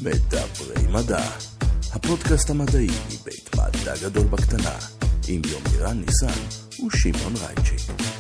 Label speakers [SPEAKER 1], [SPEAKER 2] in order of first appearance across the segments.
[SPEAKER 1] מדברי מדע, הפודקאסט המדעי מבית מדע גדול בקטנה, עם יומירן ניסן ושמעון רייצ'י.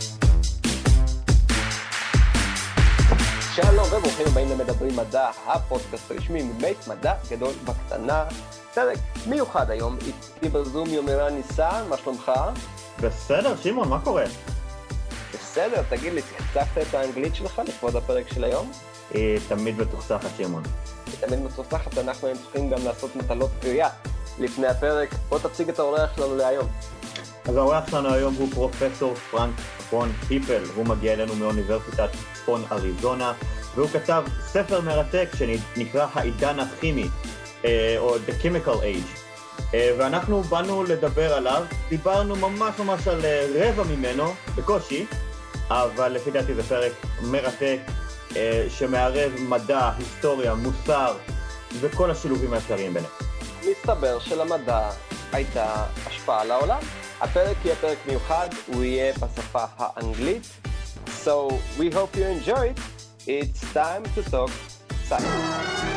[SPEAKER 2] שלום וברוכים הבאים למדברי מדע, הפודקאסט הרשמי מבית מדע גדול בקטנה. פרק מיוחד היום, איתי בזום יומירן ניסן, מה שלומך?
[SPEAKER 3] בסדר, שמעון, מה קורה?
[SPEAKER 2] בסדר, תגיד לי, צחצחת את האנגלית שלך לכבוד הפרק של היום?
[SPEAKER 3] היא תמיד מתוחסכת, שמעון.
[SPEAKER 2] היא תמיד מתוחסכת, אנחנו צריכים גם לעשות מטלות קריאה לפני הפרק. בוא תציג את האורח שלנו להיום.
[SPEAKER 3] אז האורח שלנו היום הוא פרופסור פרנק פון היפל, הוא מגיע אלינו מאוניברסיטת צפון אריזונה, והוא כתב ספר מרתק שנקרא העידן הכימי, או The Chemical Age. ואנחנו באנו לדבר עליו, דיברנו ממש על רבע ממנו, בקושי, אבל לפי דעתי זה פרק מרתק, שמערב מדע, היסטוריה, מוסר, וכל השילובים האפשריים ביניהם.
[SPEAKER 2] מסתבר שלמדע הייתה השפעה על העולם. הפרק יהיה פרק מיוחד, הוא יהיה בשפה האנגלית. So we hope you enjoy it. It's time to talk science.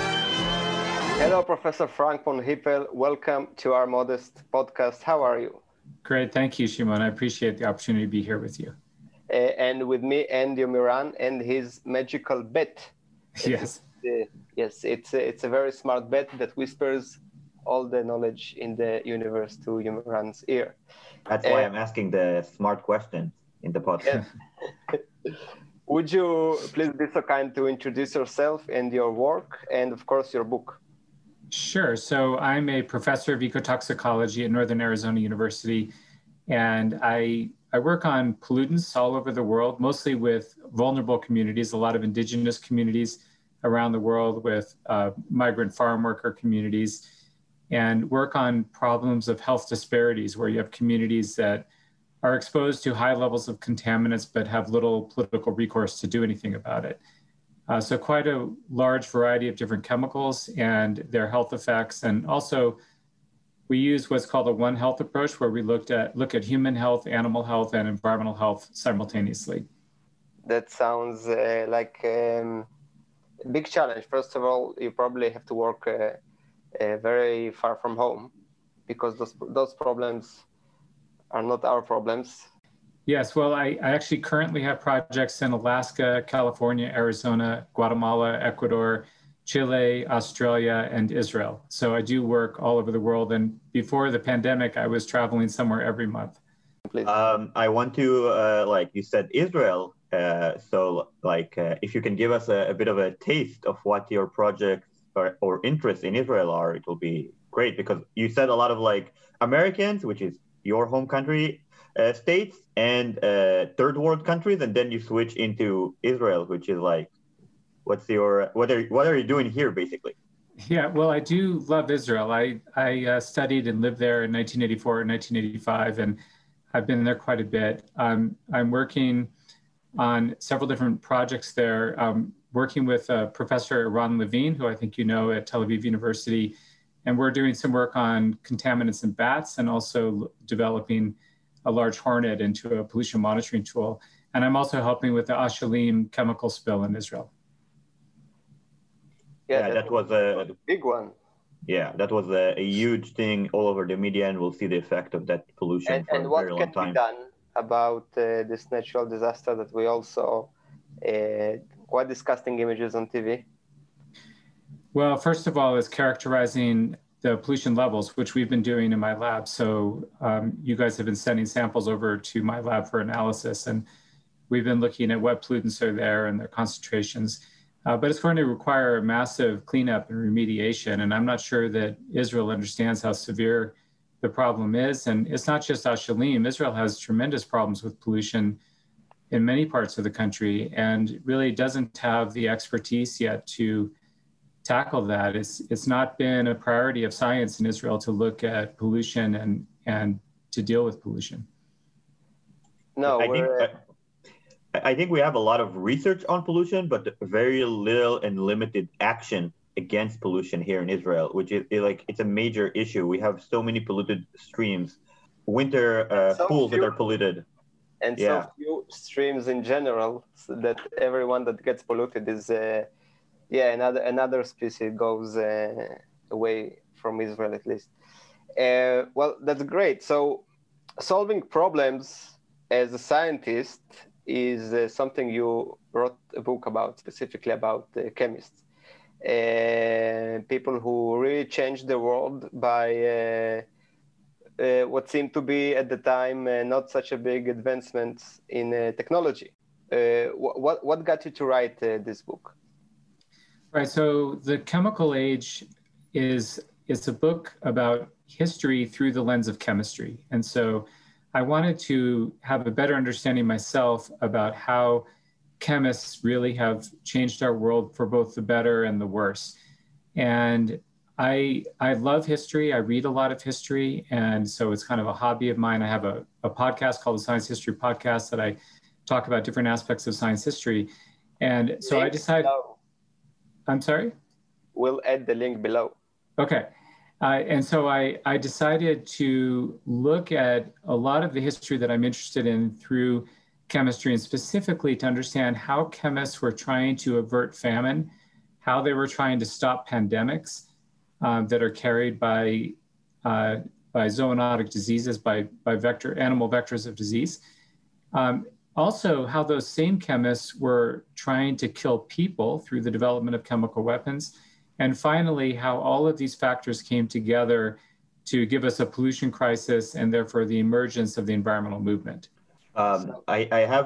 [SPEAKER 2] Hello, Professor Frank von Hippel. Welcome to our modest podcast. How are you?
[SPEAKER 4] Great, thank you, Shimon. I appreciate the opportunity to be here with you.
[SPEAKER 2] And with me and Yomiran and his magical bet.
[SPEAKER 4] Yes.
[SPEAKER 2] Yes, it's a very smart bet that whispers all the knowledge in the universe to Yomiran's ear.
[SPEAKER 3] That's why I'm asking the smart questions in the podcast.
[SPEAKER 2] Yes. Would you please be so kind to introduce yourself and your work and, of course, your book?
[SPEAKER 4] Sure. So I'm a professor of ecotoxicology at Northern Arizona University, and I work on pollutants all over the world, mostly with vulnerable communities, a lot of indigenous communities around the world with migrant farm worker communities, and work on problems of health disparities where you have communities that are exposed to high levels of contaminants but have little political recourse to do anything about it. So quite a large variety of different chemicals and their health effects. And also we use what's called a One Health approach, where we look at human health, animal health, and environmental health simultaneously.
[SPEAKER 2] That sounds like a big challenge. First of all, you probably have to work very far from home because those problems are not our problems.
[SPEAKER 4] Yes, well, I actually currently have projects in Alaska, California, Arizona, Guatemala, Ecuador, Chile, Australia, and Israel. So I do work all over the world. And before the pandemic, I was traveling somewhere every month.
[SPEAKER 3] I want to, like you said, Israel. If you can give us a bit of a taste of what your projects or interests in Israel are, it will be great, because you said a lot of like Americans, which is your home country, states, and third world countries, and then you switch into Israel, which is like, what are you doing here, basically?
[SPEAKER 4] Yeah, well, I do love Israel. I studied and lived there in 1984 and 1985, and I've been there quite a bit. I'm working on several different projects there, working with Professor Ron Levine, who I think you know at Tel Aviv University, and we're doing some work on contaminants in bats and also developing a large hornet into a pollution monitoring tool. And I'm also helping with the Ashalim chemical spill in Israel.
[SPEAKER 2] Yeah,
[SPEAKER 3] that was a
[SPEAKER 2] big one.
[SPEAKER 3] Yeah, that was a huge thing all over the media, and we'll see the effect of that pollution for a very long time.
[SPEAKER 2] And what can be done about this natural disaster that we also quite disgusting images on TV?
[SPEAKER 4] Well, first of all, is characterizing the pollution levels, which we've been doing in my lab. So you guys have been sending samples over to my lab for analysis, and we've been looking at what pollutants are there and their concentrations. But it's going to require a massive cleanup and remediation, and I'm not sure that Israel understands how severe the problem is. And it's not just Ashalim. Israel has tremendous problems with pollution in many parts of the country and really doesn't have the expertise yet to tackle that. It's not been a priority of science in Israel to look at pollution and to deal with pollution.
[SPEAKER 2] No,
[SPEAKER 3] I think we have a lot of research on pollution, but very little and limited action against pollution here in Israel, which is like, it's a major issue. We have so many polluted streams, winter pools that are polluted.
[SPEAKER 2] And so few streams in general, so that everyone that gets polluted is Yeah, another species goes away from Israel at least. Well, that's great. So solving problems as a scientist is something you wrote a book about, specifically about chemists. People who really changed the world by what seemed to be at the time not such a big advancements in technology. What got you to write this book?
[SPEAKER 4] Right. So The Chemical Age is a book about history through the lens of chemistry. And so I wanted to have a better understanding myself about how chemists really have changed our world for both the better and the worse. And I love history. I read a lot of history. And so it's kind of a hobby of mine. I have a podcast called the Science History Podcast that I talk about different aspects of science history. And so I decided... I'm sorry?
[SPEAKER 2] We'll add the link below.
[SPEAKER 4] Okay. And so I decided to look at a lot of the history that I'm interested in through chemistry, and specifically to understand how chemists were trying to avert famine, how they were trying to stop pandemics that are carried by zoonotic diseases, by animal vectors of disease. Also, how those same chemists were trying to kill people through the development of chemical weapons. And finally, how all of these factors came together to give us a pollution crisis and therefore the emergence of the environmental movement.
[SPEAKER 3] I have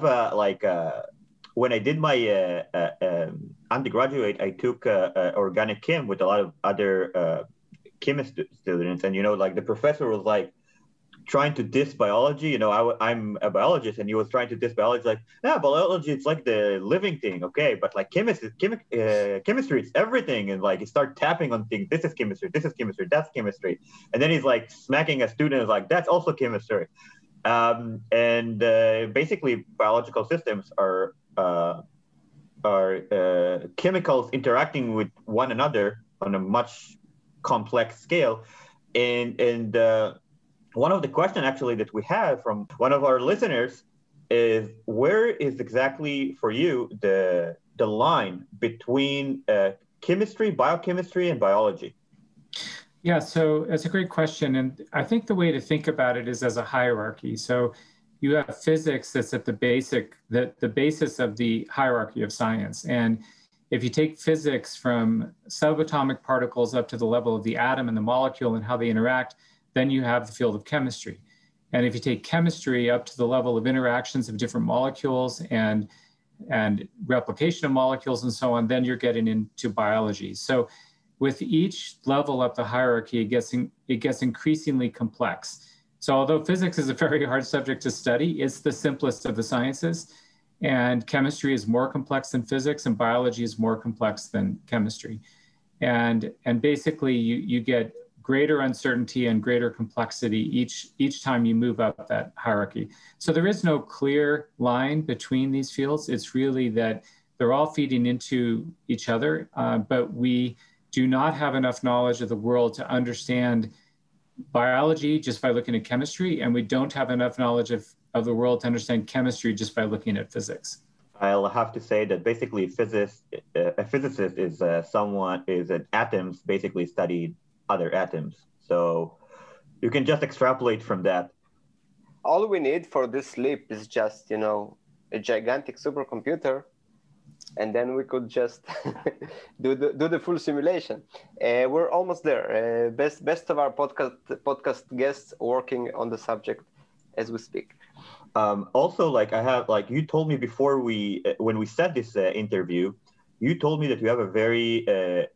[SPEAKER 3] when I did my undergraduate, I took organic chem with a lot of other chemist students. And, the professor was like, trying to diss biology. I'm a biologist, and he was trying to diss biology, like, biology, it's like the living thing, okay, but like chemistry, it's everything. And like, he started tapping on things. This is chemistry, that's chemistry. And then he's like smacking a student, like, that's also chemistry. Basically, biological systems are chemicals interacting with one another on a much complex scale. And one of the questions actually that we have from one of our listeners is, where is exactly for you the line between chemistry, biochemistry, and biology?
[SPEAKER 4] Yeah, so that's a great question. And I think the way to think about it is as a hierarchy. So you have physics that's at the basis of the hierarchy of science. And if you take physics from subatomic particles up to the level of the atom and the molecule and how they interact, then you have the field of chemistry. And if you take chemistry up to the level of interactions of different molecules and replication of molecules and so on, then you're getting into biology. So with each level up the hierarchy, it gets increasingly complex. So although physics is a very hard subject to study, it's the simplest of the sciences. And chemistry is more complex than physics, and biology is more complex than chemistry. And basically you get greater uncertainty and greater complexity each time you move up that hierarchy. So there is no clear line between these fields. It's really that they're all feeding into each other, but we do not have enough knowledge of the world to understand biology just by looking at chemistry, and we don't have enough knowledge of the world to understand chemistry just by looking at physics.
[SPEAKER 3] I'll have to say that basically a physicist is an atoms basically studied other atoms. So you can just extrapolate from that.
[SPEAKER 2] All we need for this leap is just, a gigantic supercomputer, and then we could just do the full simulation. We're almost there. Best of our podcast guests working on the subject as we speak.
[SPEAKER 3] Also, you told me before when we set this interview, you told me that you have a very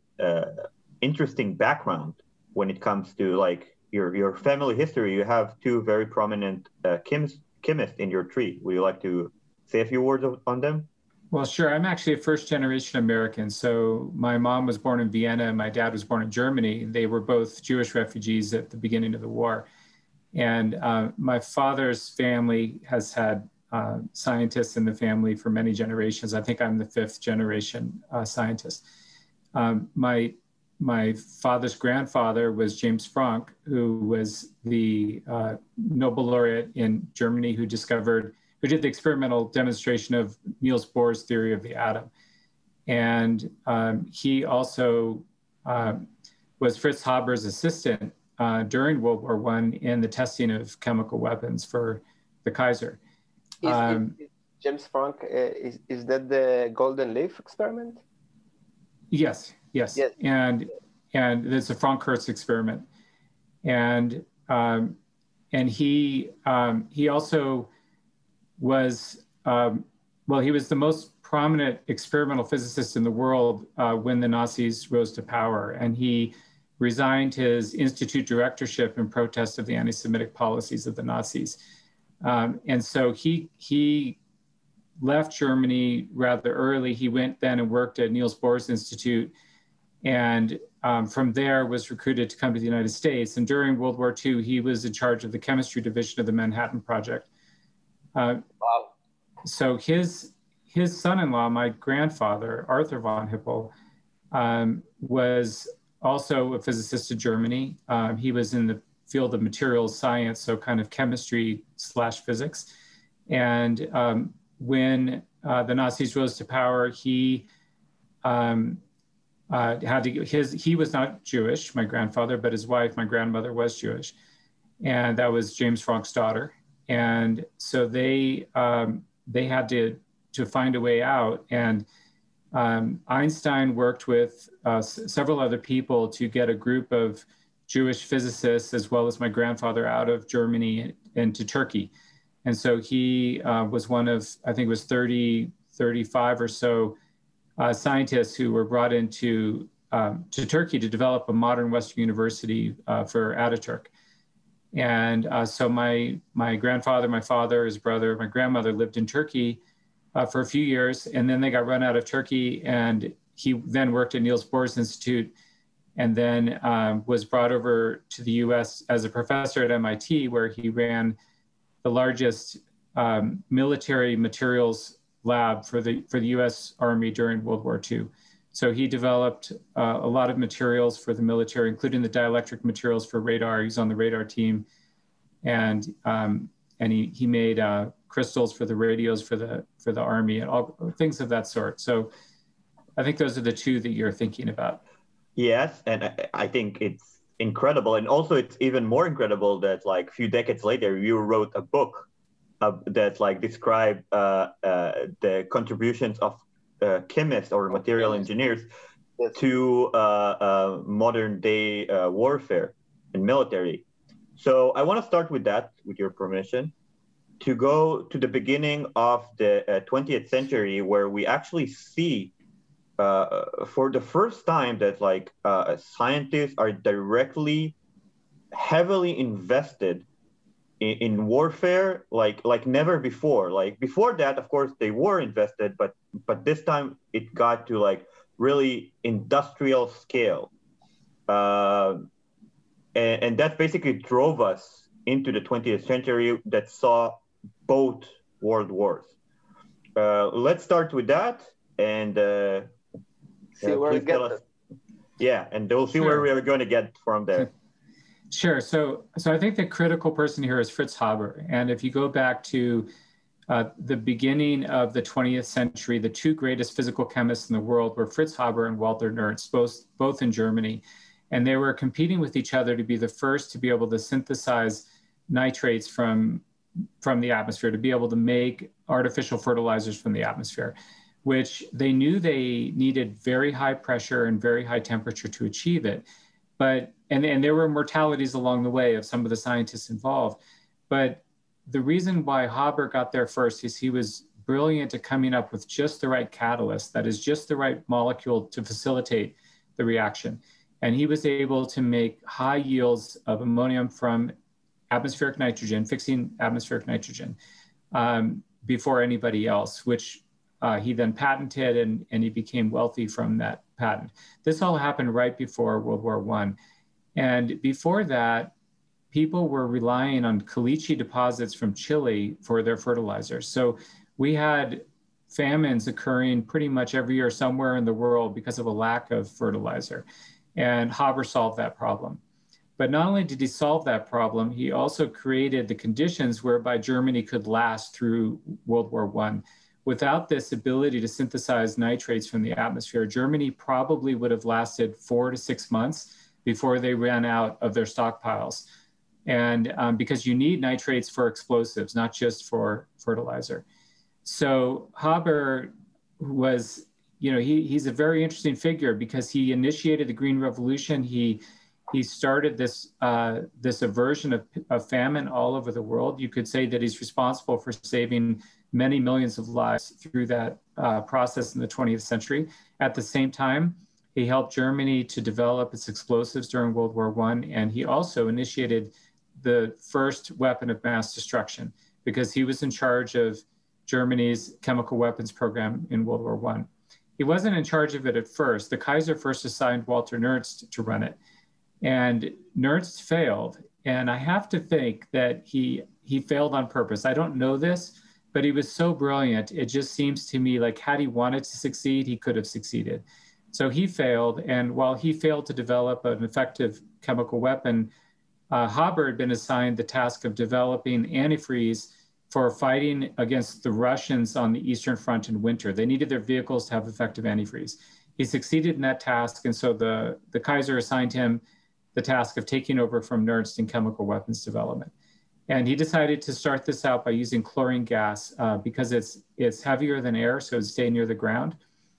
[SPEAKER 3] interesting background when it comes to your family history. You have two very prominent chemists in your tree. Would you like to say a few words on them?
[SPEAKER 4] Well, sure. I'm actually a first-generation American. So my mom was born in Vienna and my dad was born in Germany. They were both Jewish refugees at the beginning of the war. And my father's family has had scientists in the family for many generations. I think I'm the fifth generation scientist. My father's grandfather was James Franck, who was the Nobel laureate in Germany who did the experimental demonstration of Niels Bohr's theory of the atom. And he also was Fritz Haber's assistant during World War I in the testing of chemical weapons for the Kaiser.
[SPEAKER 2] Is James Franck, is that the Golden Leaf experiment?
[SPEAKER 4] Yes. And it's a Franck-Hertz experiment. And he also was, he was the most prominent experimental physicist in the world when the Nazis rose to power. And he resigned his institute directorship in protest of the anti-Semitic policies of the Nazis. And so he left Germany rather early. He went then and worked at Niels Bohr's Institute, and from there was recruited to come to the United States. And during World War II, he was in charge of the chemistry division of the Manhattan Project.
[SPEAKER 2] Wow.
[SPEAKER 4] So his son-in-law, my grandfather, Arthur von Hippel, was also a physicist in Germany. He was in the field of materials science, so kind of chemistry/physics. And when the Nazis rose to power, he he was not Jewish, my grandfather, but his wife, my grandmother, was Jewish. And that was James Franck's daughter. And so they had to find a way out. And Einstein worked with several other people to get a group of Jewish physicists, as well as my grandfather, out of Germany into Turkey. And so he was one of, I think it was 30, 35 or so scientists who were brought into to Turkey to develop a modern Western university for Ataturk. And so my grandfather, my father, his brother, my grandmother lived in Turkey for a few years, and then they got run out of Turkey, and he then worked at Niels Bohr's Institute, and then was brought over to the US as a professor at MIT, where he ran the largest military materials lab for the US Army during World War II. So he developed a lot of materials for the military, including the dielectric materials for radar. He's on the radar team, and he made crystals for the radios for the Army and all things of that sort. So I think those are the two that you're thinking about.
[SPEAKER 3] Yes, and I think it's incredible, and also it's even more incredible that like a few decades later you wrote a book that like described the contributions of chemists or material engineers to modern day warfare and military. So I want to start with that, with your permission, to go to the beginning of the 20th century, where we actually see for the first time that like scientists are directly heavily invested in warfare like never before. Like before that, of course, they were invested, but this time it got to like really industrial scale. And that basically drove us into the 20th century that saw both world wars. Let's start with that and
[SPEAKER 2] see where we get
[SPEAKER 3] us. Yeah, and we'll see where we are going to get from there.
[SPEAKER 4] Sure. So I think the critical person here is Fritz Haber. And if you go back to the beginning of the 20th century, the two greatest physical chemists in the world were Fritz Haber and Walther Nernst, both in Germany. And they were competing with each other to be the first to be able to synthesize nitrates from the atmosphere, to be able to make artificial fertilizers from the atmosphere, which they knew they needed very high pressure and very high temperature to achieve it. But and there were mortalities along the way of some of the scientists involved. But the reason why Haber got there first is he was brilliant at coming up with just the right catalyst, that is just the right molecule to facilitate the reaction. And he was able to make high yields of ammonium from atmospheric nitrogen, fixing atmospheric nitrogen, before anybody else, which he then patented, and he became wealthy from that patent. This all happened right before World War I. And before that, people were relying on caliche deposits from Chile for their fertilizers. So we had famines occurring pretty much every year somewhere in the world because of a lack of fertilizer. And Haber solved that problem. But not only did he solve that problem, he also created the conditions whereby Germany could last through World War I. without this ability to synthesize nitrates from the atmosphere, Germany probably would have lasted 4 to 6 months before they ran out of their stockpiles. And because you need nitrates for explosives, not just for fertilizer. So Haber was, he's a very interesting figure because he initiated the Green Revolution. He started this aversion of famine all over the world. You could say that he's responsible for saving many millions of lives through that process in the 20th century. At the same time, he helped Germany to develop its explosives during World War I, and he also initiated the first weapon of mass destruction because he was in charge of Germany's chemical weapons program in World War I. He wasn't in charge of it at first. The Kaiser first assigned Walter Nernst to run it, and Nernst failed. And I have to think that he failed on purpose. I don't know this, but he was so brilliant. It just seems to me like had he wanted to succeed, he could have succeeded. So he failed. And while he failed to develop an effective chemical weapon, Haber had been assigned the task of developing antifreeze for fighting against the Russians on the Eastern Front in winter. They needed their vehicles to have effective antifreeze. He succeeded in that task. And so the Kaiser assigned him the task of taking over from Nernst in chemical weapons development. And he decided to start this out by using chlorine gas because it's heavier than air, so it'd stay near the ground.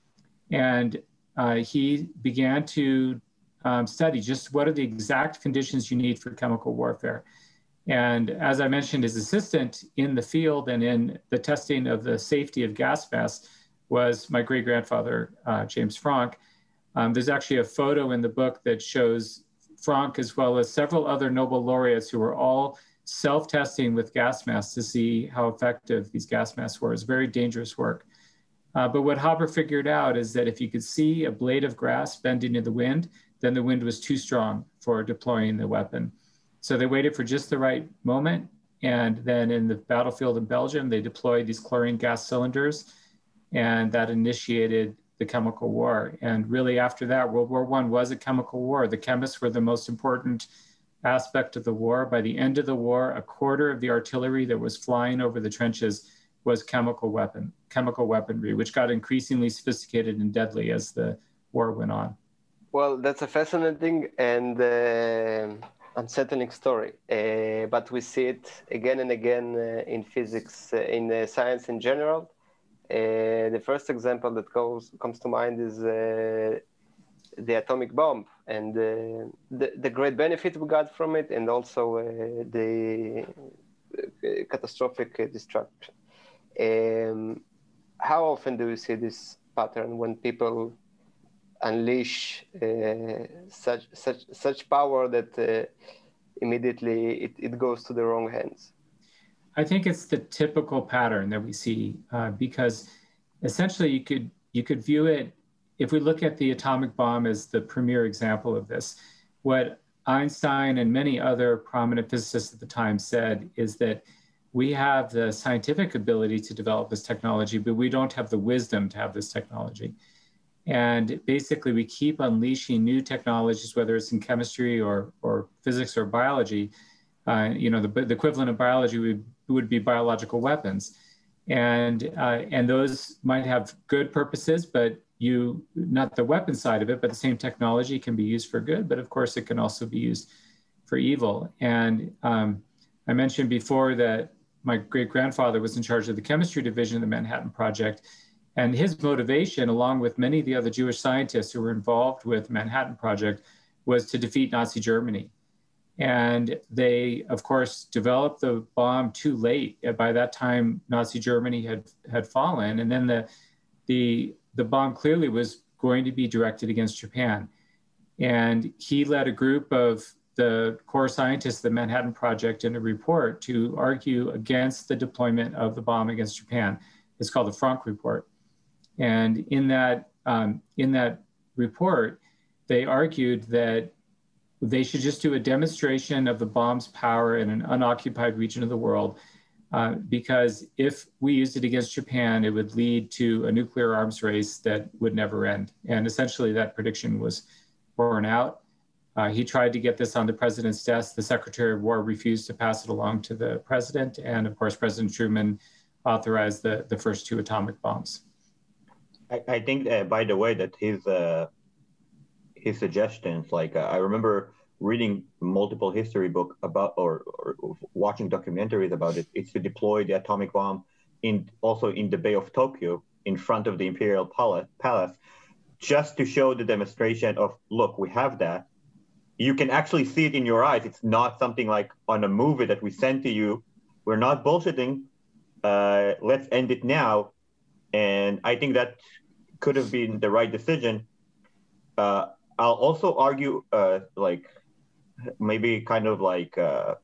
[SPEAKER 4] And he began to study just what are the exact conditions you need for chemical warfare. And as I mentioned, his assistant in the field and in the testing of the safety of gas masks was my great-grandfather, James Franck. There's actually a photo in the book that shows Franck as well as several other Nobel laureates who were all self-testing with gas masks to see how effective these gas masks were. It's very dangerous work. But what Haber figured out is that if you could see a blade of grass bending in the wind, then the wind was too strong for deploying the weapon. So they waited for just the right moment. And then in the battlefield in Belgium, they deployed these chlorine gas cylinders, and that initiated the chemical war. And really after that, World War I was a chemical war. The chemists were the most important aspect of the war. By the end of the war, a quarter of the artillery that was flying over the trenches was chemical weaponry, which got increasingly sophisticated and deadly as the war went on.
[SPEAKER 2] Well, that's a fascinating and unsettling story, but we see it again and again in physics, in science in general. The first example that comes to mind is the atomic bomb and the great benefit we got from it, and also the catastrophic destruction. How often do you see this pattern when people unleash such power that immediately it goes to the wrong hands?
[SPEAKER 4] I think it's the typical pattern that we see because essentially you could view it, if we look at the atomic bomb as the premier example of this, what Einstein and many other prominent physicists at the time said is that we have the scientific ability to develop this technology, but we don't have the wisdom to have this technology. And basically, we keep unleashing new technologies, whether it's in chemistry or physics or biology. The equivalent of biology would be biological weapons. And those might have good purposes, but not the weapon side of it, but the same technology can be used for good, but of course it can also be used for evil. And I mentioned before that my great-grandfather was in charge of the chemistry division of the Manhattan Project. And his motivation, along with many of the other Jewish scientists who were involved with the Manhattan Project, was to defeat Nazi Germany. And they, of course, developed the bomb too late. By that time, Nazi Germany had fallen. And then the bomb clearly was going to be directed against Japan. And he led a group of the core scientists of the Manhattan Project in a report to argue against the deployment of the bomb against Japan. It's called the Franck Report. And in that report, they argued that they should just do a demonstration of the bomb's power in an unoccupied region of the world, because if we used it against Japan, it would lead to a nuclear arms race that would never end. And essentially that prediction was borne out. He tried to get this on the president's desk. The Secretary of War refused to pass it along to the president. And of course, President Truman authorized the first two atomic bombs.
[SPEAKER 3] I think, by the way, that his suggestions, like I remember reading multiple history book about or watching documentaries about it. It's to deploy the atomic bomb also in the Bay of Tokyo in front of the Imperial Palace, just to show the demonstration of, look, we have that. You can actually see it in your eyes. It's not something like on a movie that we send to you. We're not bullshitting. Let's end it now. And I think that could have been the right decision. I'll also argue, like, maybe kind of like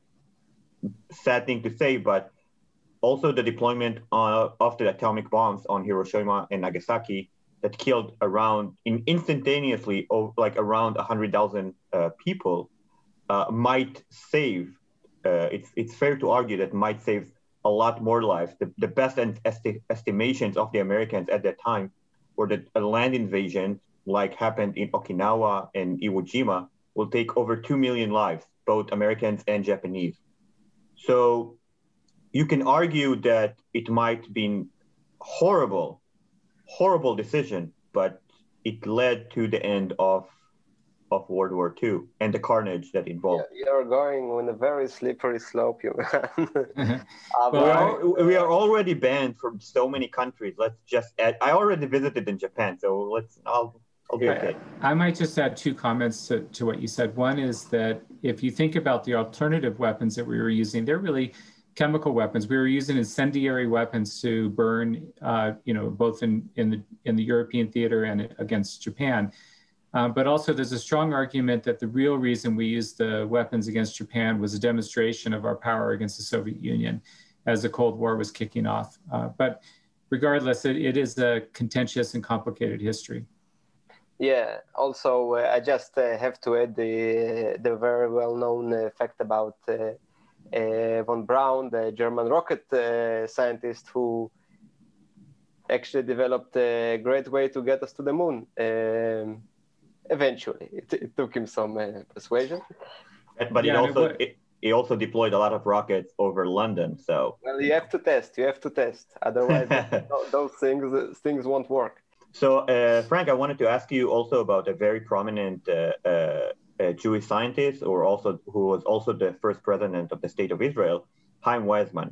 [SPEAKER 3] sad thing to say, but also the deployment of the atomic bombs on Hiroshima and Nagasaki that killed instantaneously like around 100,000 people might save. It's fair to argue that might save a lot more lives. The best estimations of the Americans at that time were that a land invasion like happened in Okinawa and Iwo Jima will take over 2 million lives, both Americans and Japanese. So you can argue that it might have been horrible decision, but it led to the end of World War II and the carnage that involved.
[SPEAKER 2] Yeah, you're going on a very slippery slope, you man.
[SPEAKER 3] We are already banned from so many countries. Let's just add. I already visited in Japan, so I'll be okay.
[SPEAKER 4] I might just add two comments to what you said. One is that if you think about the alternative weapons that we were using, they're really chemical weapons. We were using incendiary weapons to burn, both in the European theater and against Japan. But also there's a strong argument that the real reason we used the weapons against Japan was a demonstration of our power against the Soviet Union as the Cold War was kicking off. But regardless, it is a contentious and complicated history.
[SPEAKER 2] Yeah, also I just have to add the very well-known fact about von Braun, the German rocket scientist who actually developed a great way to get us to the moon. Eventually, it took him some persuasion.
[SPEAKER 3] But he also deployed a lot of rockets over London. So
[SPEAKER 2] well, you have to test. Otherwise, those things won't work.
[SPEAKER 3] So, Frank, I wanted to ask you also about a very prominent Jewish scientist, who was also the first president of the State of Israel, Chaim Weizmann.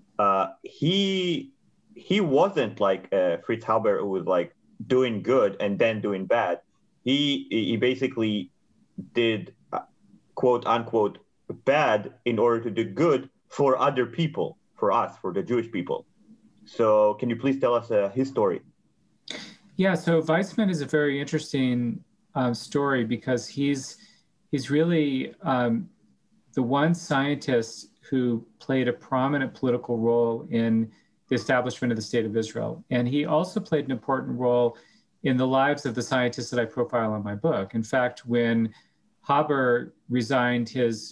[SPEAKER 3] He wasn't like Fritz Haber, who was like doing good and then doing bad. He basically did quote unquote bad in order to do good for other people, for us, for the Jewish people. So, can you please tell us his story?
[SPEAKER 4] Yeah, so Weizmann is a very interesting story because he's really the one scientist who played a prominent political role in the establishment of the State of Israel. And he also played an important role in the lives of the scientists that I profile in my book. In fact, when Haber resigned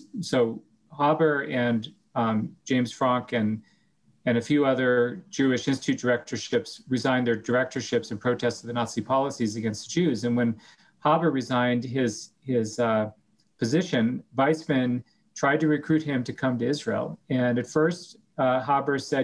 [SPEAKER 4] Haber and James Franck and a few other Jewish Institute directorships resigned their directorships in protest of the Nazi policies against the Jews. And when Haber resigned his position, Weizmann tried to recruit him to come to Israel. And at first, Haber said,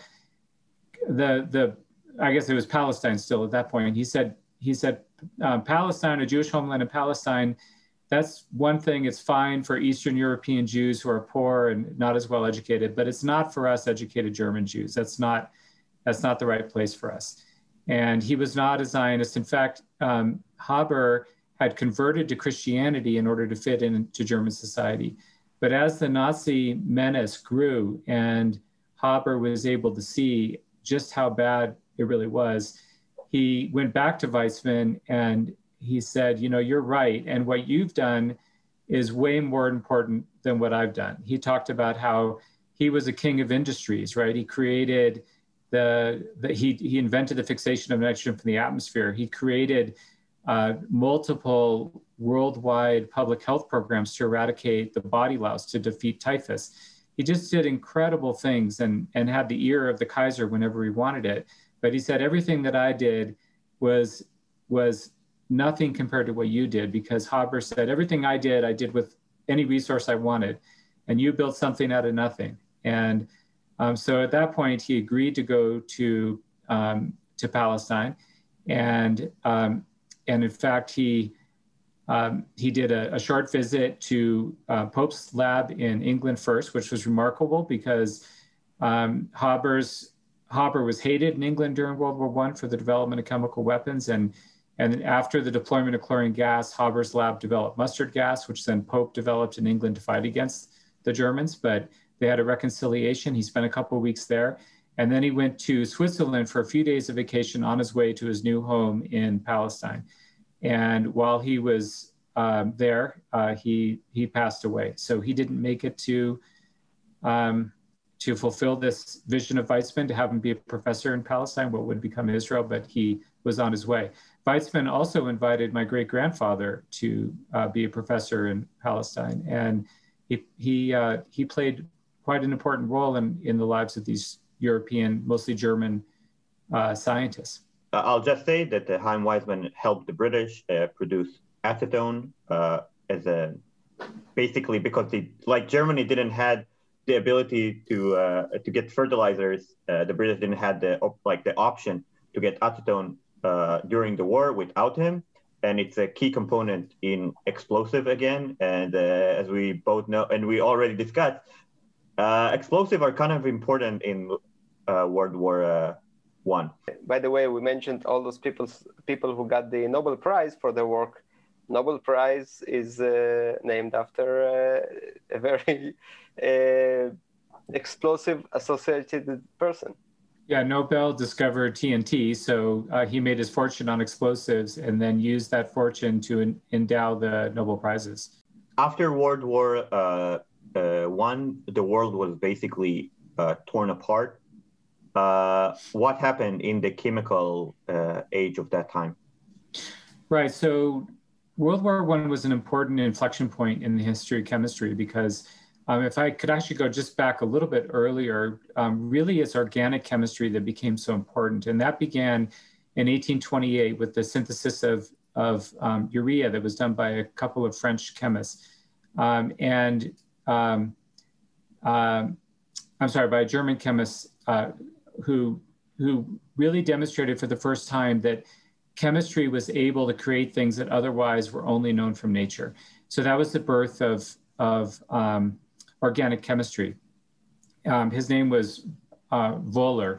[SPEAKER 4] I guess it was Palestine still at that point. He said, Palestine, a Jewish homeland in Palestine, that's one thing. It's fine for Eastern European Jews who are poor and not as well educated, but it's not for us educated German Jews. That's not the right place for us. And he was not a Zionist. In fact, Haber had converted to Christianity in order to fit into German society. But as the Nazi menace grew and Haber was able to see just how bad it really was, he went back to Weizmann and he said, you're right. And what you've done is way more important than what I've done. He talked about how he was a king of industries, right? He created he invented the fixation of nitrogen from the atmosphere. He created multiple worldwide public health programs to eradicate the body louse, to defeat typhus. He just did incredible things and had the ear of the Kaiser whenever he wanted it. But he said, everything that I did was nothing compared to what you did, because Haber said, everything I did with any resource I wanted, and you built something out of nothing. And So at that point, he agreed to go to Palestine, and in fact, he did a short visit to Pope's lab in England first, which was remarkable because Haber was hated in England during World War I for the development of chemical weapons, and after the deployment of chlorine gas, Haber's lab developed mustard gas, which then Pope developed in England to fight against the Germans, but they had a reconciliation. He spent a couple of weeks there, and then he went to Switzerland for a few days of vacation on his way to his new home in Palestine. And while he was there, he passed away. So he didn't make it to fulfill this vision of Weizmann, to have him be a professor in Palestine, what would become Israel, but he was on his way. Weizmann also invited my great-grandfather to be a professor in Palestine, and he played quite an important role in the lives of these European, mostly German scientists.
[SPEAKER 3] I'll just say that Chaim Weizmann helped the British produce acetone basically because like Germany didn't have the ability to get fertilizers. The British didn't have the option to get acetone during the war without him, and it's a key component in explosive again. And as we both know, and we already discussed, explosives are kind of important in World War I.
[SPEAKER 2] By the way, we mentioned all those people who got the Nobel Prize for their work. Nobel Prize is named after a very explosive associated person.
[SPEAKER 4] Yeah, Nobel discovered TNT, so he made his fortune on explosives and then used that fortune to endow the Nobel Prizes.
[SPEAKER 3] After World War I, the world was basically torn apart. What happened in the chemical age of that time?
[SPEAKER 4] Right, so World War I was an important inflection point in the history of chemistry because if I could actually go just back a little bit earlier, really it's organic chemistry that became so important. And that began in 1828 with the synthesis of urea that was done by a couple of French chemists. By a German chemist who really demonstrated for the first time that chemistry was able to create things that otherwise were only known from nature. So that was the birth of organic chemistry. His name was Wohler.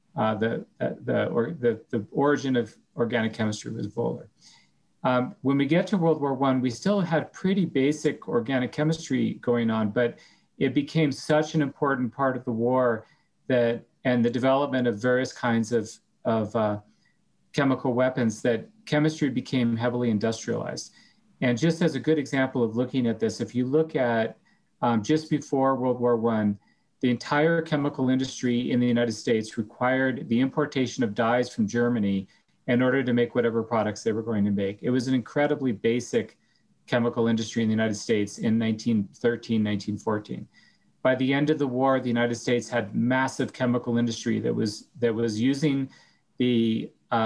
[SPEAKER 4] The origin of organic chemistry was Wohler. When we get to World War I, we still had pretty basic organic chemistry going on, but it became such an important part of the war and the development of various kinds of chemical weapons that chemistry became heavily industrialized. And just as a good example of looking at this, if you look at just before World War I, the entire chemical industry in the United States required the importation of dyes from Germany in order to make whatever products they were going to make. It was an incredibly basic chemical industry in the United States in 1913, 1914. By the end of the war, the United States had massive chemical industry that was using the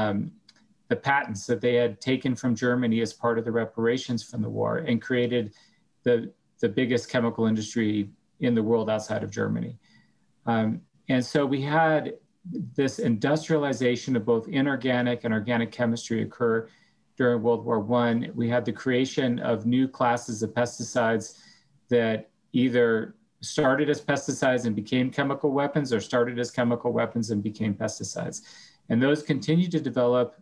[SPEAKER 4] patents that they had taken from Germany as part of the reparations from the war and created the biggest chemical industry in the world outside of Germany. And so we had this industrialization of both inorganic and organic chemistry occur during World War I. We had the creation of new classes of pesticides that either started as pesticides and became chemical weapons or started as chemical weapons and became pesticides. And those continued to develop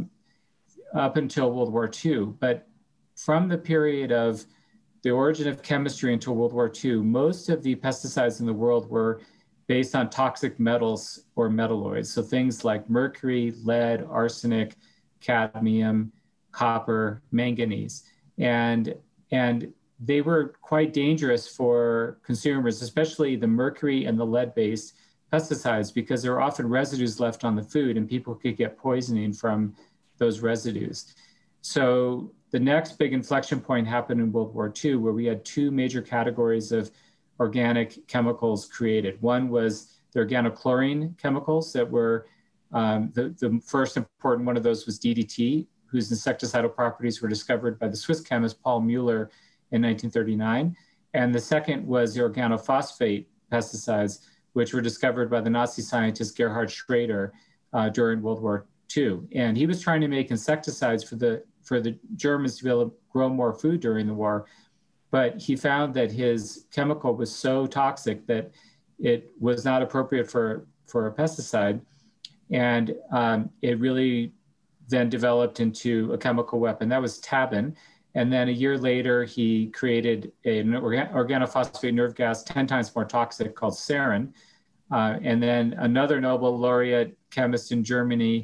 [SPEAKER 4] up until World War II. But from the period of the origin of chemistry until World War II, most of the pesticides in the world were based on toxic metals or metalloids. So things like mercury, lead, arsenic, cadmium, copper, manganese. And they were quite dangerous for consumers, especially the mercury and the lead-based pesticides, because there were often residues left on the food and people could get poisoning from those residues. So the next big inflection point happened in World War II, where we had two major categories of organic chemicals created. One was the organochlorine chemicals that were, the first important one of those was DDT, whose insecticidal properties were discovered by the Swiss chemist Paul Mueller in 1939. And the second was the organophosphate pesticides, which were discovered by the Nazi scientist Gerhard Schrader during World War II. And he was trying to make insecticides for the Germans to be able to grow more food during the war. But he found that his chemical was so toxic that it was not appropriate for a pesticide. And it really then developed into a chemical weapon. That was tabun. And then a year later, he created an organophosphate nerve gas 10 times more toxic called sarin. And then another Nobel laureate chemist in Germany,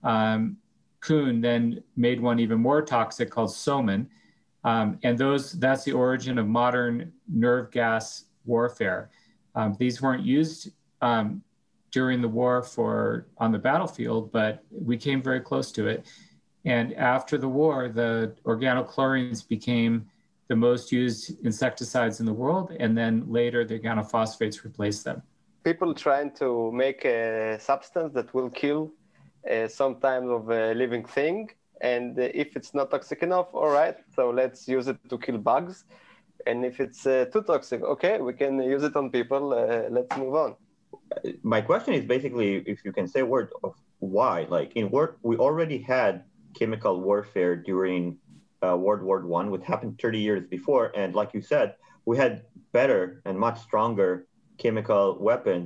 [SPEAKER 4] Kuhn, then made one even more toxic called soman. And that's the origin of modern nerve gas warfare. These weren't used during the war on the battlefield, but we came very close to it. And after the war, the organochlorines became the most used insecticides in the world, and then later the organophosphates replaced them.
[SPEAKER 2] People trying to make a substance that will kill some type of a living thing, and if it's not toxic enough, all right, so let's use it to kill bugs. And if it's too toxic, okay, we can use it on people, let's move on.
[SPEAKER 3] My question is basically, if you can say a word of why. Like we already had chemical warfare during World War I, which happened 30 years before. And like you said, we had better and much stronger chemical weapons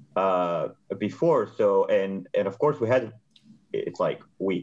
[SPEAKER 3] before. So, and of course we had, it's like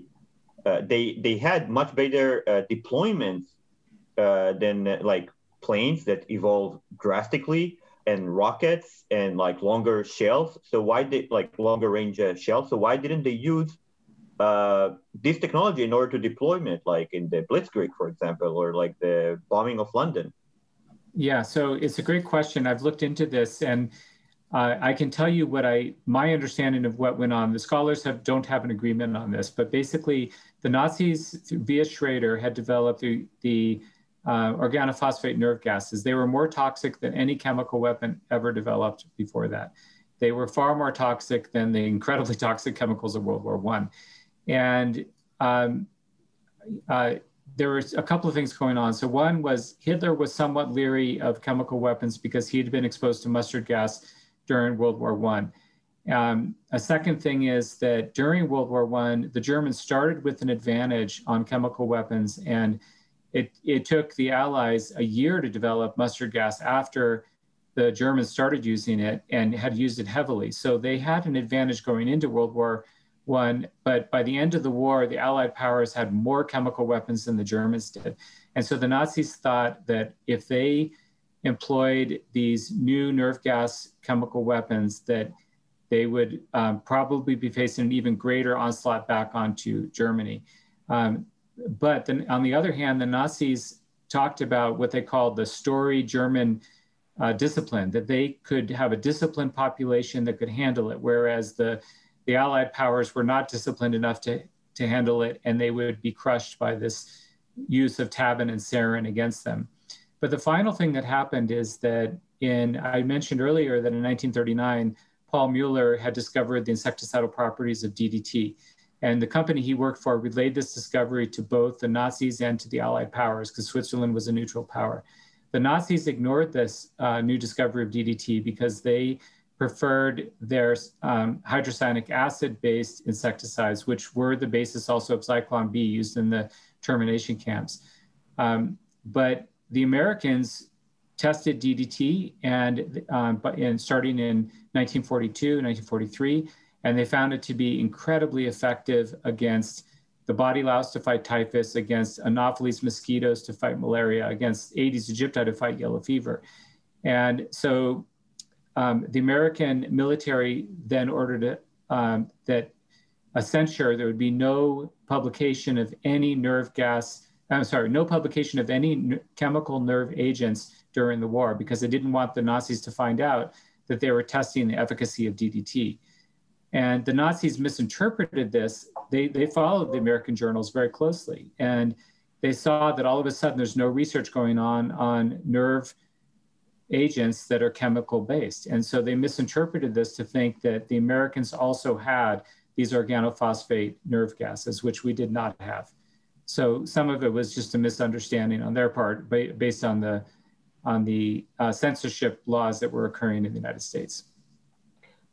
[SPEAKER 3] they had much better deployments than like planes that evolved drastically, and rockets and like longer shells. So longer range shells. So why didn't they use this technology in order to deployment, like in the Blitzkrieg, for example, or like the bombing of London?
[SPEAKER 4] Yeah, so it's a great question. I've looked into this, and I can tell you my understanding of what went on. The scholars don't have an agreement on this, but basically the Nazis via Schrader had developed the organophosphate nerve gases. They were more toxic than any chemical weapon ever developed before that. They were far more toxic than the incredibly toxic chemicals of World War I. And there was a couple of things going on. So one was Hitler was somewhat leery of chemical weapons because he had been exposed to mustard gas during World War I. A second thing is that during World War I, the Germans started with an advantage on chemical weapons, and it took the Allies a year to develop mustard gas after the Germans started using it and had used it heavily. So they had an advantage going into World War I, but by the end of the war, the Allied powers had more chemical weapons than the Germans did. And so the Nazis thought that if they employed these new nerve gas chemical weapons, that they would probably be facing an even greater onslaught back onto Germany. But then, on the other hand, the Nazis talked about what they called the Story German discipline, that they could have a disciplined population that could handle it, whereas the Allied powers were not disciplined enough to handle it, and they would be crushed by this use of tabun and sarin against them. But the final thing that happened is that I mentioned earlier that in 1939, Paul Mueller had discovered the insecticidal properties of DDT. And the company he worked for relayed this discovery to both the Nazis and to the Allied powers, because Switzerland was a neutral power. The Nazis ignored this new discovery of DDT because they preferred their hydrocyanic acid-based insecticides, which were the basis also of Zyklon B used in the termination camps. But the Americans tested DDT and starting in 1942, 1943, and they found it to be incredibly effective against the body louse to fight typhus, against Anopheles mosquitoes to fight malaria, against Aedes aegypti to fight yellow fever. And so the American military then ordered that a censure, there would be no publication of any no publication of any chemical nerve agents during the war, because they didn't want the Nazis to find out that they were testing the efficacy of DDT. And the Nazis misinterpreted this. They followed the American journals very closely, and they saw that all of a sudden there's no research going on nerve agents that are chemical based. And so they misinterpreted this to think that the Americans also had these organophosphate nerve gases, which we did not have. So some of it was just a misunderstanding on their part based on the censorship laws that were occurring in the United States.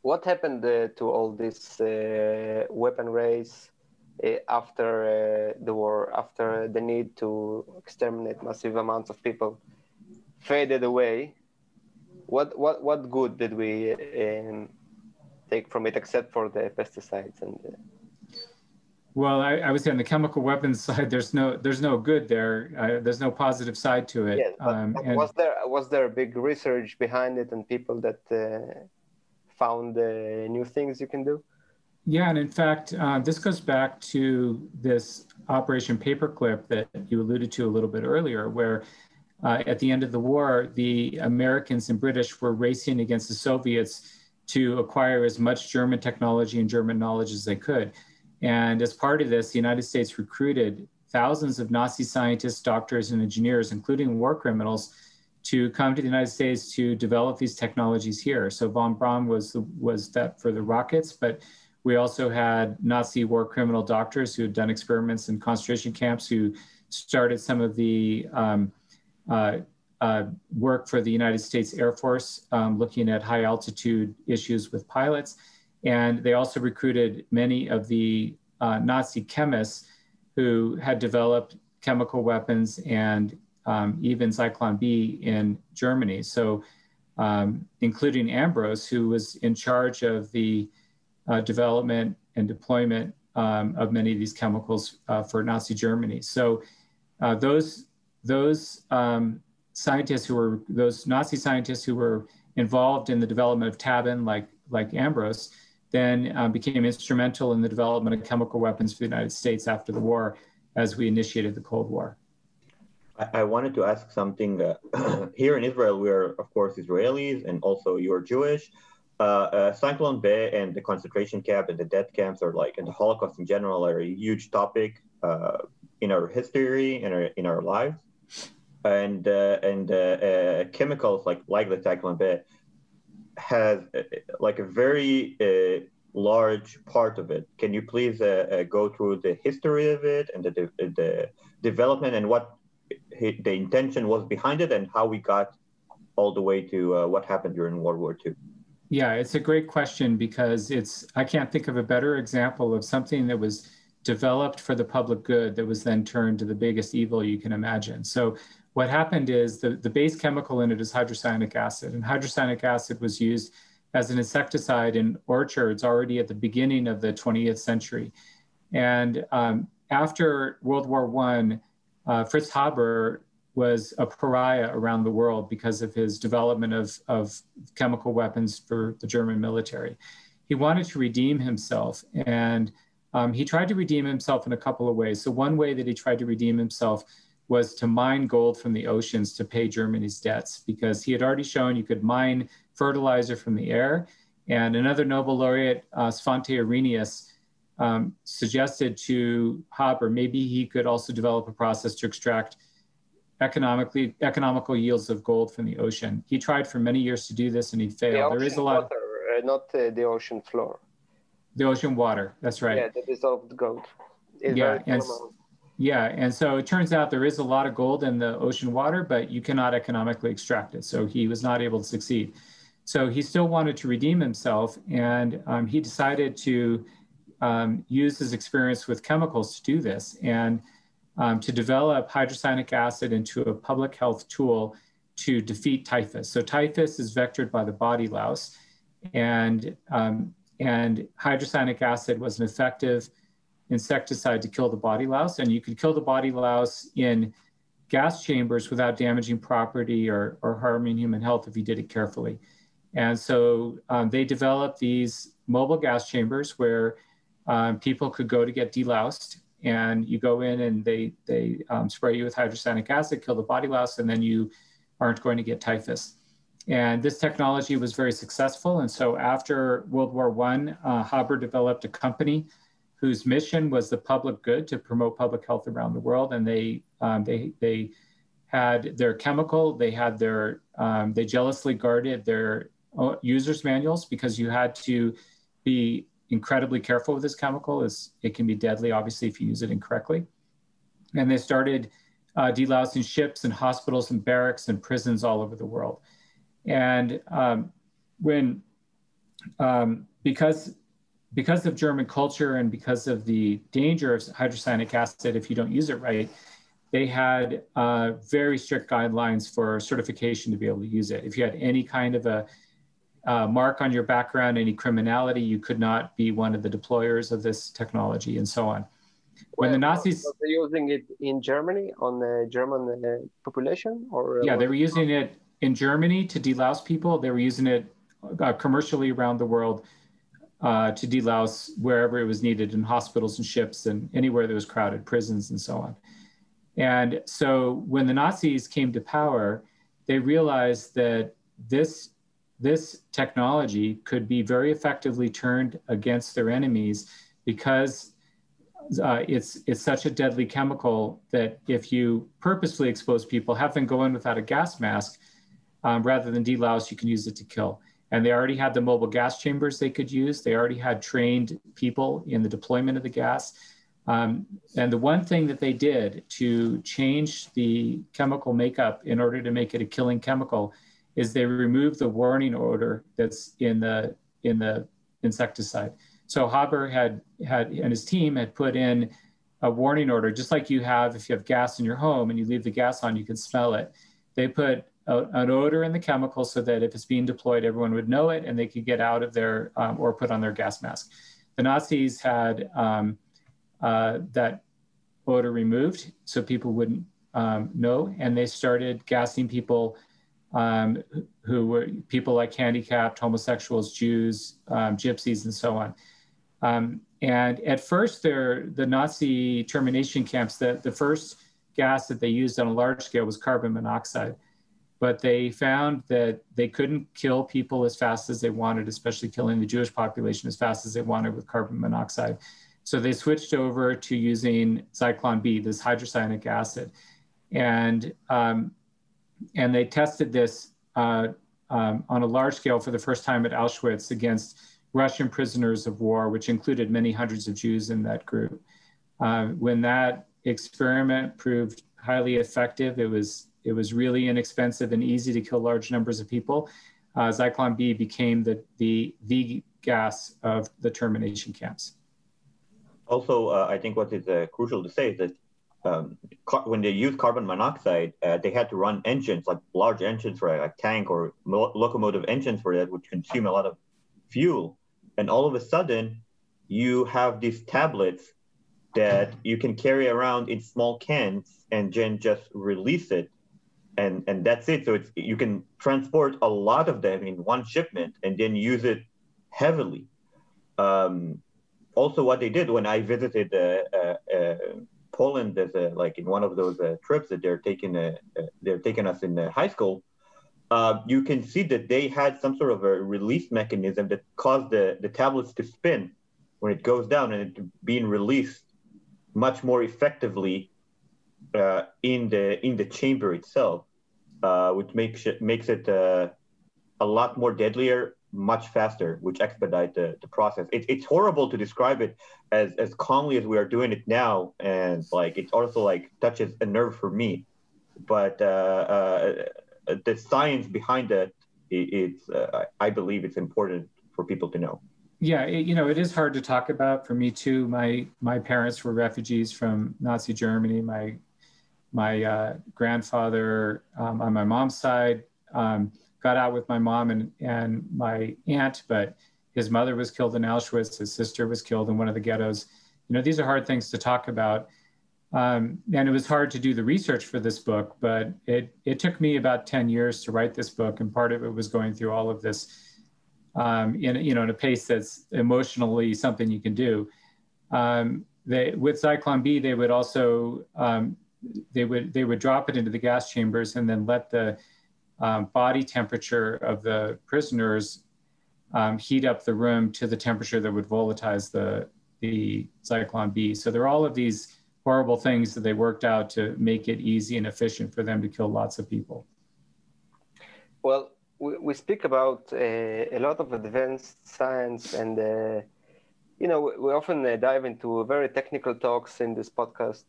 [SPEAKER 2] what happened to all this weapon race after the war, after the need to exterminate massive amounts of people faded away? What good did we take from it, except for the pesticides and?
[SPEAKER 4] Well, I would say on the chemical weapons side, there's no good there. There's no positive side to it.
[SPEAKER 2] Yes, but was there a big research behind it and people that found new things you can do?
[SPEAKER 4] Yeah, and in fact, this goes back to this Operation Paperclip that you alluded to a little bit earlier, where at the end of the war, the Americans and British were racing against the Soviets to acquire as much German technology and German knowledge as they could. And as part of this, the United States recruited thousands of Nazi scientists, doctors, and engineers, including war criminals, to come to the United States to develop these technologies here. So von Braun was that for the rockets, but we also had Nazi war criminal doctors who had done experiments in concentration camps, who started some of the work for the United States Air Force, looking at high altitude issues with pilots. And they also recruited many of the Nazi chemists who had developed chemical weapons and even Zyklon B in Germany. So including Ambros, who was in charge of the development and deployment of many of these chemicals for Nazi Germany. So those scientists those Nazi scientists who were involved in the development of Tabin, like Ambros, then became instrumental in the development of chemical weapons for the United States after the war, as we initiated the Cold War.
[SPEAKER 3] I wanted to ask something. Here in Israel, we are, of course, Israelis, and also you're Jewish. Zyklon B and the concentration camp and the death camps and the Holocaust in general are a huge topic in our history and in our lives. And chemicals like the Zyklon B has a very large part of it. Can you please go through the history of it and the development and what the intention was behind it and how we got all the way to what happened during World War II?
[SPEAKER 4] Yeah, it's a great question because I can't think of a better example of something that was developed for the public good that was then turned to the biggest evil you can imagine. So what happened is the base chemical in it is hydrocyanic acid, and hydrocyanic acid was used as an insecticide in orchards already at the beginning of the 20th century. And after World War I, Fritz Haber was a pariah around the world because of his development of chemical weapons for the German military. He wanted to redeem himself, and he tried to redeem himself in a couple of ways. So one way that he tried to redeem himself was to mine gold from the oceans to pay Germany's debts, because he had already shown you could mine fertilizer from the air. And another Nobel laureate, Svante Arrhenius, suggested to Haber maybe he could also develop a process to extract economical yields of gold from the ocean. He tried for many years to do this, and he failed. There is a lot.
[SPEAKER 2] Water, not the ocean floor.
[SPEAKER 4] The ocean water. That's right.
[SPEAKER 2] Yeah, the dissolved gold.
[SPEAKER 4] And so it turns out there is a lot of gold in the ocean water, but you cannot economically extract it. So he was not able to succeed. So he still wanted to redeem himself, and he decided to use his experience with chemicals to do this, and to develop hydrocyanic acid into a public health tool to defeat typhus. So typhus is vectored by the body louse, and hydrocyanic acid was an effective insecticide to kill the body louse. And you could kill the body louse in gas chambers without damaging property or harming human health if you did it carefully. And so they developed these mobile gas chambers where people could go to get deloused, and you go in and they spray you with hydrocyanic acid, kill the body louse, and then you aren't going to get typhus. And this technology was very successful. And so after World War I, Haber developed a company whose mission was the public good, to promote public health around the world. And they had their chemical, they jealously guarded their users' manuals, because you had to be incredibly careful with this chemical, as it can be deadly, obviously, if you use it incorrectly. And they started delousing ships and hospitals and barracks and prisons all over the world. And when because of German culture and because of the danger of hydrocyanic acid if you don't use it right, they had very strict guidelines for certification to be able to use it. If you had any kind of a mark on your background, any criminality, you could not be one of the deployers of this technology and so on. When the Nazis...
[SPEAKER 2] Were they using it in Germany on the German population?
[SPEAKER 4] Yeah, they were using it in Germany to delouse people. They were using it commercially around the world to delouse wherever it was needed, in hospitals and ships and anywhere that was crowded, prisons and so on. And so when the Nazis came to power, they realized that this technology could be very effectively turned against their enemies because it's such a deadly chemical that if you purposefully expose people, have them go in without a gas mask, rather than delouse, you can use it to kill. And they already had the mobile gas chambers they could use. They already had trained people in the deployment of the gas. And the one thing that they did to change the chemical makeup in order to make it a killing chemical is they removed the warning odor that's in the insecticide. So Haber had and his team had put in a warning odor, just like you have if you have gas in your home and you leave the gas on, you can smell it. They put an odor in the chemical so that if it's being deployed, everyone would know it and they could get out of their or put on their gas mask. The Nazis had that odor removed so people wouldn't know, and they started gassing people who were people like handicapped, homosexuals, Jews, gypsies, and so on. And at first, the Nazi termination camps, the first gas that they used on a large scale was carbon monoxide. But they found that they couldn't kill people as fast as they wanted, especially killing the Jewish population as fast as they wanted with carbon monoxide. So they switched over to using Zyklon B, this hydrocyanic acid. And they tested this on a large scale for the first time at Auschwitz against Russian prisoners of war, which included many hundreds of Jews in that group. When that experiment proved highly effective, it was really inexpensive and easy to kill large numbers of people. Zyklon B became the gas of the termination camps.
[SPEAKER 3] Also, I think what is crucial to say is that when they used carbon monoxide, they had to run engines, like large engines for a tank or locomotive engines for that, which consume a lot of fuel. And all of a sudden, you have these tablets that you can carry around in small cans and then just release it. And that's it. So you can transport a lot of them in one shipment and then use it heavily. Also, what they did when I visited Poland, as like in one of those trips that they're taking us in high school, you can see that they had some sort of a release mechanism that caused the tablets to spin when it goes down, and it being released much more effectively in the chamber itself, which makes it a lot more deadlier, much faster, which expedite the process. It's horrible to describe it as calmly as we are doing it now, and like it also like touches a nerve for me. But the science behind it, I believe it's important for people to know.
[SPEAKER 4] Yeah, it is hard to talk about for me too. My parents were refugees from Nazi Germany. My grandfather on my mom's side got out with my mom and my aunt, but his mother was killed in Auschwitz. His sister was killed in one of the ghettos. These are hard things to talk about. And it was hard to do the research for this book, but it took me about 10 years to write this book. And part of it was going through all of this in a pace that's emotionally something you can do. With Zyklon B, they would also, they would drop it into the gas chambers and then let the body temperature of the prisoners heat up the room to the temperature that would volatilize the Zyklon B. So there are all of these horrible things that they worked out to make it easy and efficient for them to kill lots of people.
[SPEAKER 2] Well, we speak about a lot of advanced science, and we often dive into very technical talks in this podcast.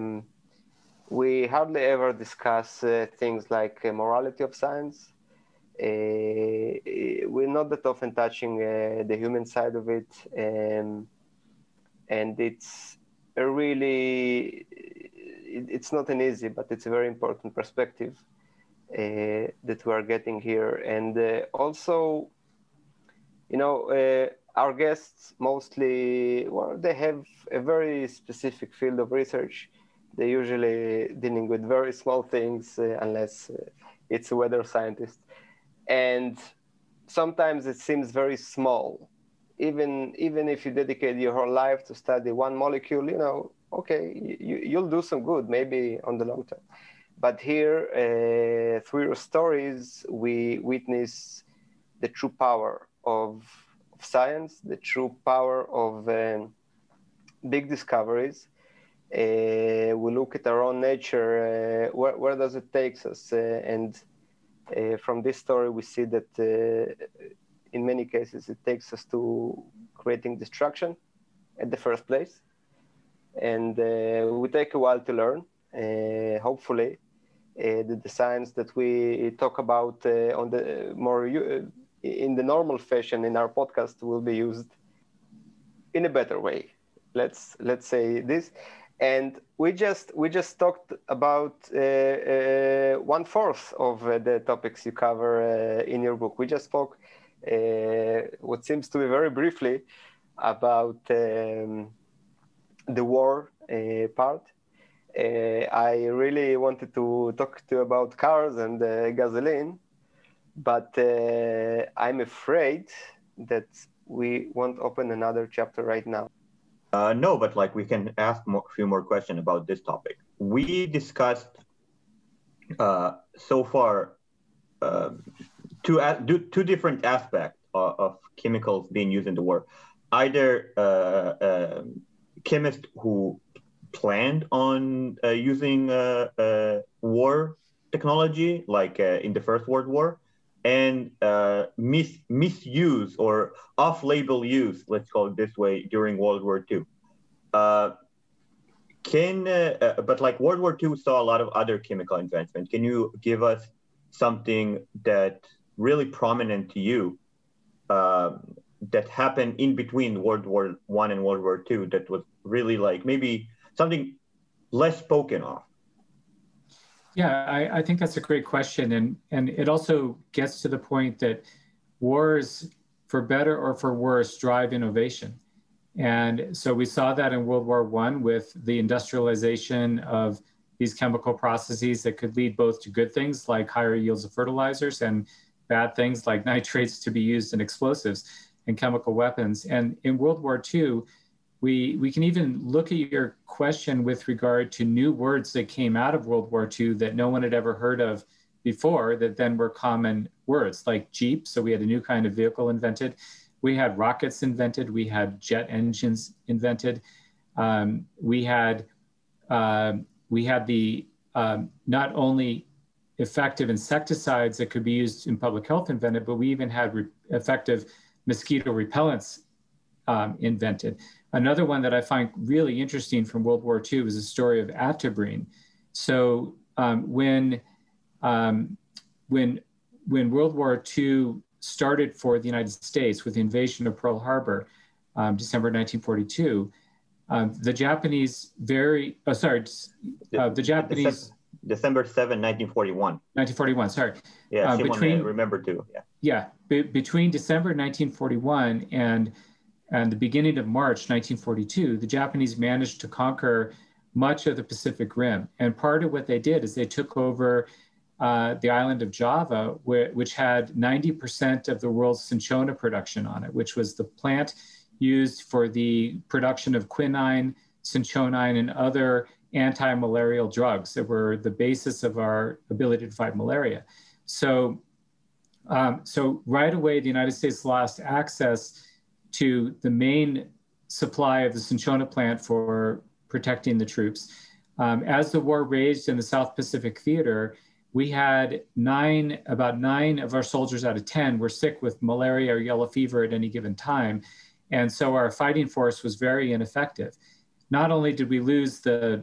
[SPEAKER 2] We hardly ever discuss things like morality of science. We're not that often touching the human side of it, and it's a really, it's not an easy, but it's a very important perspective that we are getting here. And also, our guests mostly, well, they have a very specific field of research. They're usually dealing with very small things, unless it's a weather scientist. And sometimes it seems very small. Even if you dedicate your whole life to study one molecule, okay, you'll do some good, maybe on the long term. But here, through your stories, we witness the true power of science, the true power of big discoveries. We look at our own nature, where does it take us? And from this story, we see that in many cases, it takes us to creating destruction at the first place. And we take a while to learn, hopefully. The science that we talk about on the more in the normal fashion in our podcast will be used in a better way. Let's say this, and we just talked about 1/4 of the topics you cover in your book. We just spoke what seems to be very briefly about the war part. I really wanted to talk to you about cars and gasoline, but I'm afraid that we won't open another chapter right now.
[SPEAKER 3] No, but we can ask a few more questions about this topic. We discussed so far two different aspects of chemicals being used in the war. Either chemists who planned on using war technology, like in the First World War, and misuse or off-label use, let's call it this way, during World War II. But World War II saw a lot of other chemical advancement. Can you give us something that really prominent to you that happened in between World War I and World War II that was really maybe something less spoken of?
[SPEAKER 4] Yeah, I think that's a great question. And it also gets to the point that wars, for better or for worse, drive innovation. And so we saw that in World War I with the industrialization of these chemical processes that could lead both to good things like higher yields of fertilizers and bad things like nitrates to be used in explosives and chemical weapons. And in World War II, we can even look at your question with regard to new words that came out of World War II that no one had ever heard of before that then were common words, like Jeep. So we had a new kind of vehicle invented. We had rockets invented. We had jet engines invented. We had the not only effective insecticides that could be used in public health invented, but we even had effective mosquito repellents invented. Another one that I find really interesting from World War II is the story of Atabrine. So when World War II started for the United States with the invasion of Pearl Harbor, December 1942, the Japanese
[SPEAKER 3] December 7, 1941.
[SPEAKER 4] 1941, sorry.
[SPEAKER 3] Yeah, remember too.
[SPEAKER 4] Yeah, between December 1941 and the beginning of March 1942, the Japanese managed to conquer much of the Pacific Rim. And part of what they did is they took over the island of Java, which had 90% of the world's cinchona production on it, which was the plant used for the production of quinine, cinchonine, and other anti-malarial drugs that were the basis of our ability to fight malaria. So right away, the United States lost access to the main supply of the cinchona plant for protecting the troops. As the war raged in the South Pacific Theater, we had about nine of our soldiers out of 10 were sick with malaria or yellow fever at any given time. And so our fighting force was very ineffective. Not only did we lose the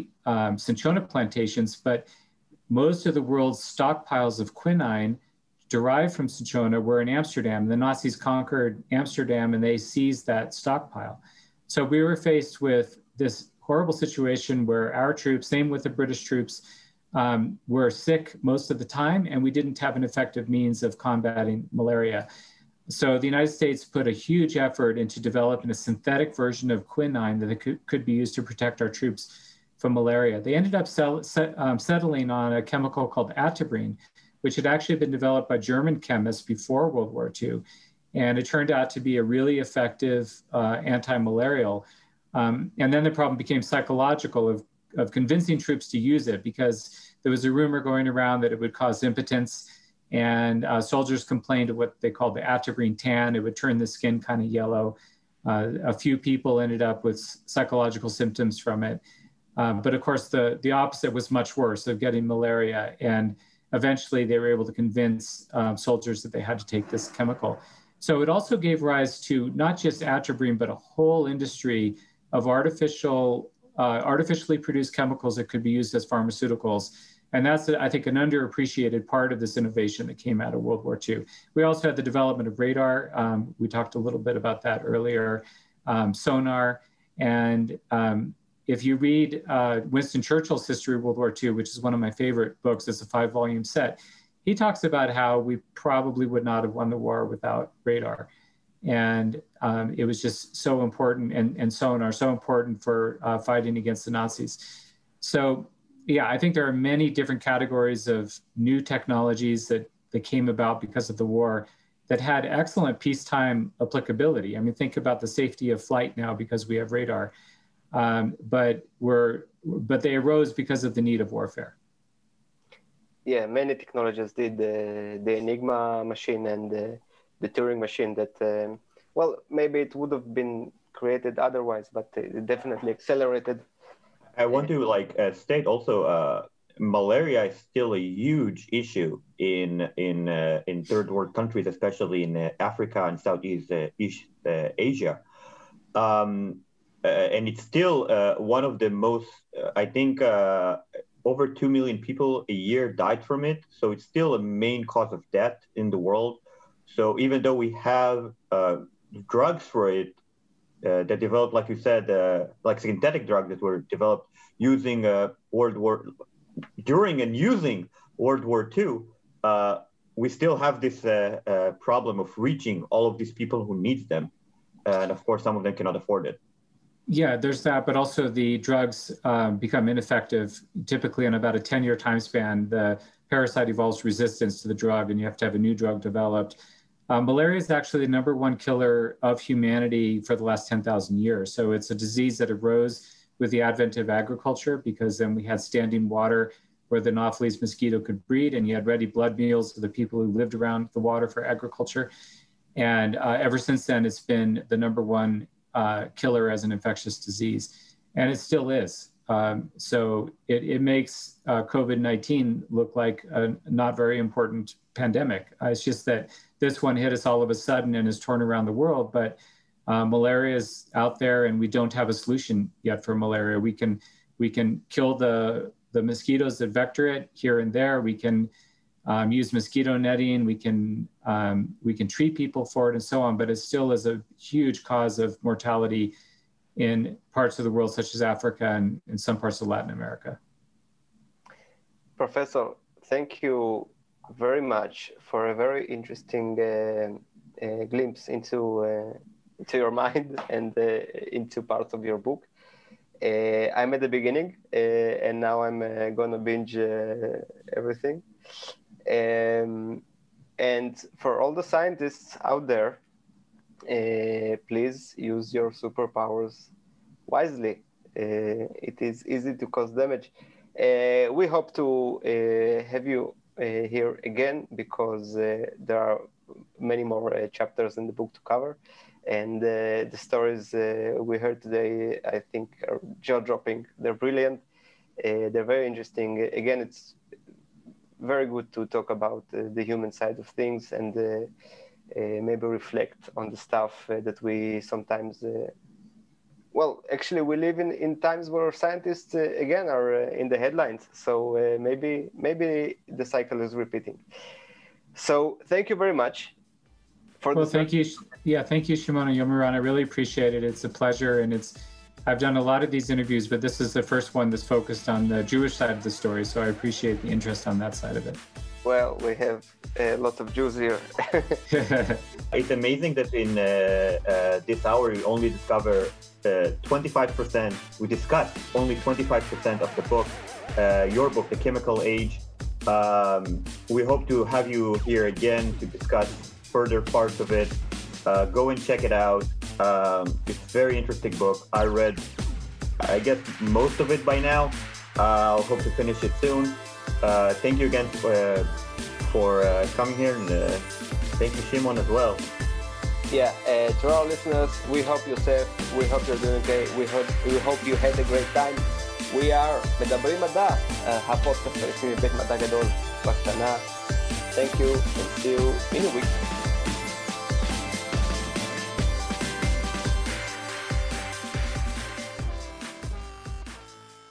[SPEAKER 4] cinchona plantations, but most of the world's stockpiles of quinine derived from cinchona were in Amsterdam. The Nazis conquered Amsterdam and they seized that stockpile. So we were faced with this horrible situation where our troops, same with the British troops, were sick most of the time, and we didn't have an effective means of combating malaria. So the United States put a huge effort into developing a synthetic version of quinine that could be used to protect our troops from malaria. They ended up settling on a chemical called atabrine, which had actually been developed by German chemists before World War II. And it turned out to be a really effective anti-malarial. And then the problem became psychological of convincing troops to use it, because there was a rumor going around that it would cause impotence. And soldiers complained of what they called the atabrine tan. It would turn the skin kind of yellow. A few people ended up with psychological symptoms from it. But of course, the opposite was much worse, of getting malaria. And eventually they were able to convince soldiers that they had to take this chemical. So it also gave rise to not just atabrine, but a whole industry of artificially produced chemicals that could be used as pharmaceuticals. And that's, I think, an underappreciated part of this innovation that came out of World War II. We also had the development of radar. We talked a little bit about that earlier, sonar. And if you read Winston Churchill's History of World War II, which is one of my favorite books, it's a 5-volume set, he talks about how we probably would not have won the war without radar. And it was just so important, and sonar, so important for fighting against the Nazis. So, yeah, I think there are many different categories of new technologies that came about because of the war that had excellent peacetime applicability. I mean, think about the safety of flight now because we have radar, but they arose because of the need of warfare.
[SPEAKER 2] Yeah, many technologies did. The Enigma machine and the Turing machine that, well, maybe it would have been created otherwise, but it definitely accelerated.
[SPEAKER 3] I want to state also, malaria is still a huge issue in third world countries, especially in Africa and Southeast Asia, and it's still one of the most. I think over 2 million people a year died from it, so it's still a main cause of death in the world. So even though we have drugs for it, that developed, like you said, like synthetic drugs that were developed using during and using World War II, we still have this problem of reaching all of these people who need them. And of course, some of them cannot afford it.
[SPEAKER 4] Yeah, there's that, but also the drugs become ineffective, typically in about a 10-year time span. The parasite evolves resistance to the drug, and you have to have a new drug developed. Malaria is actually the #1 killer of humanity for the last 10,000 years. So it's a disease that arose with the advent of agriculture, because then we had standing water where the Anopheles mosquito could breed, and you had ready blood meals for the people who lived around the water for agriculture. And ever since then, it's been the #1 killer as an infectious disease, and it still is. So it makes COVID-19 look like a not very important pandemic. It's just that this one hit us all of a sudden and has torn around the world, but malaria is out there, and we don't have a solution yet for malaria. We can kill the mosquitoes that vector it here and there. We can use mosquito netting. We can treat people for it and so on, but it still is a huge cause of mortality in parts of the world, such as Africa and in some parts of Latin America.
[SPEAKER 2] Professor, thank you very much for a very interesting glimpse into your mind and into parts of your book. I'm at the beginning, and now I'm gonna binge everything. And for all the scientists out there, please use your superpowers wisely. It is easy to cause damage. We hope to have you here again, because there are many more chapters in the book to cover. And the stories we heard today, I think, are jaw-dropping. They're brilliant. They're very interesting. Again, it's very good to talk about the human side of things and maybe reflect on the stuff that we sometimes... well, actually, we live in times where scientists, again, are in the headlines. So maybe the cycle is repeating. So thank you very much.
[SPEAKER 4] Thank you. Yeah, thank you, Shimon and Yomiran. I really appreciate it. It's a pleasure, and I've done a lot of these interviews, but this is the first one that's focused on the Jewish side of the story, so I appreciate the interest on that side of it.
[SPEAKER 2] Well, we have lots of Jews here.
[SPEAKER 3] It's amazing that in this hour we only discover 25%, we discussed only 25% of the book, your book, The Chemical Age. We hope to have you here again to discuss further parts of it. Go and check it out. It's a very interesting book. I read, I guess, most of it by now. I'll hope to finish it soon. Thank you again for coming here, and thank you, Shimon, as well.
[SPEAKER 2] Yeah, to our listeners, we hope you're safe. We hope you're doing okay. We hope you had a great time. We are מדברים מדע, הפודקאסט הרשמי מבית מדע גדול בקטנה. Thank you, and see you in a week.